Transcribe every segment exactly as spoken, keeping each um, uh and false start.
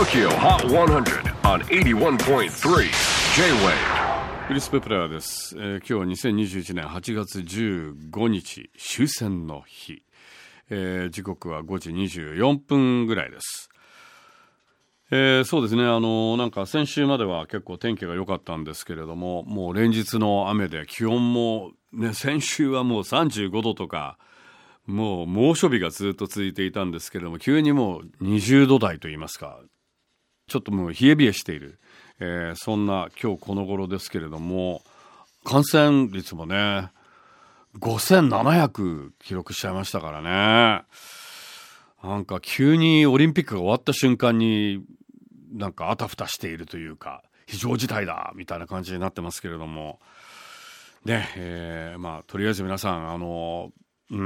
Tokyo Hot one hundred on エイティワンポイントスリー J-Wave。 クリス・ペプラーです、えー、今日はにせんにじゅういちねんはちがつじゅうごにち終戦の日、えー、時刻はごじにじゅうよんぷんぐらいです。えー、そうですね、あのなんか先週までは結構天気が良かったんですけれども、もう連日の雨で気温も、ね、先週はもうさんじゅうごどとかもう猛暑日がずっと続いていたんですけれども、急にもうにじゅうど台といいますか、ちょっともう冷え冷えしている、えー、そんな今日この頃ですけれども、感染率もねごせんななひゃく記録しちゃいましたからね。なんか急にオリンピックが終わった瞬間になんかあたふたしているというか、非常事態だみたいな感じになってますけれどもね、えー、まあとりあえず皆さんあの、うん、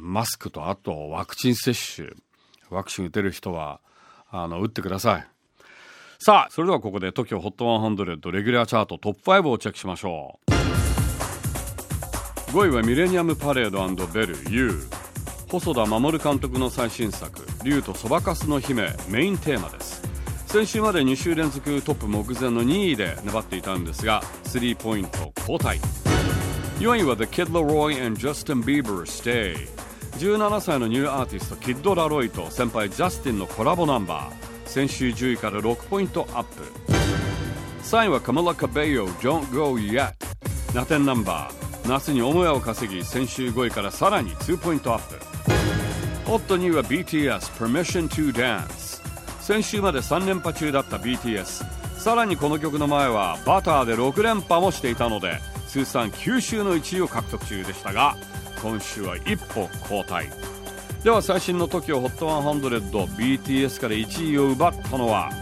マスクとあとワクチン接種、ワクチン打てる人はあの打ってください。さあ、それではここで トキオ ホットハンドレッドレギュラーチャートトップファイブをチェックしましょう。ごいはミレニアムパレード&ベル U、 細田守監督の最新作竜とそばかすの姫メインテーマです。先週までに週連続トップ目前のにいで粘っていたんですがスリーポイント交代。よんいは The Kid Laroi and Justin Bieber Stay、 じゅうななさいのニューアーティストキッド・ラロイと先輩ジャスティンのコラボナンバー、先週じゅういからろくポイントアップ。さんいはカマラ・カベイヨ Don't Go Yet、 ラテンナンバー、夏に母屋を稼ぎ先週ごいからさらににポイントアップ。ホットにいは ビーティーエスPermission to Dance、 先週までさんれんぱ中だった ビーティーエス、 さらにこの曲の前はバターでろくれんぱもしていたので通算きゅう週のいちいを獲得中でしたが、今週は一歩後退。では最新の トキオ ホットハンドレッド ビーティーエス からいちいを奪ったのは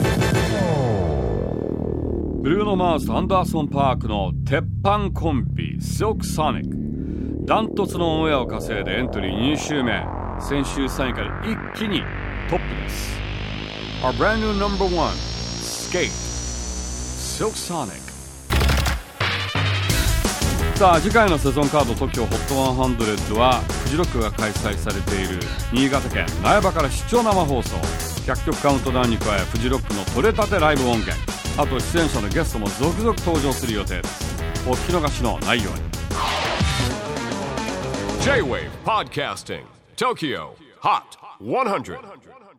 ブルーノ・マーズとアンダーソン・パークの鉄板コンビ Silk Sonic。 ダントツのオンエアを稼いでエントリーに週目、先週さんいから一気にトップです。 Our brand new number one Skate Silk Sonic。さあ次回のセゾンカード トキオ ホットハンドレッドはフジロックが開催されている新潟県苗場から出張生放送、ひゃっきょくカウントダウンに加えフジロックの取れたてライブ音源、あと出演者のゲストも続々登場する予定です。お聞き逃しのないように。 J-Wave Podcasting Tokyo Hot ハンドレッド